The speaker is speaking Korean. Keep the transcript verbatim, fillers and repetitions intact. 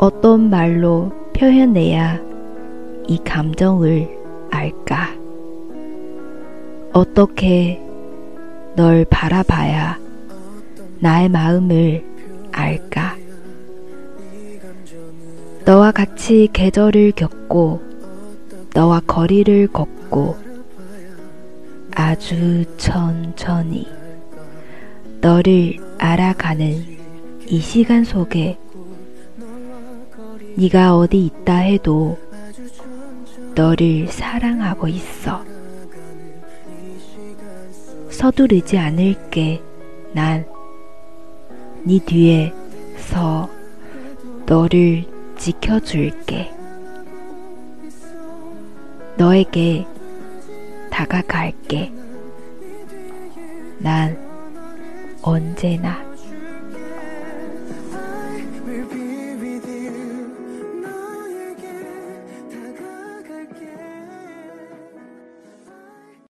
어떤 말로 표현해야 이 감정을 알까? 어떻게 널 바라봐야 나의 마음을 알까? 너와 같이 계절을 겪고 너와 거리를 걷고 아주 천천히 너를 알아가는 이 시간 속에 네가 어디 있다 해도 너를 사랑하고 있어. 서두르지 않을게. 난 네 뒤에 서 너를 지켜줄게. 너에게 다가갈게. 난 언제나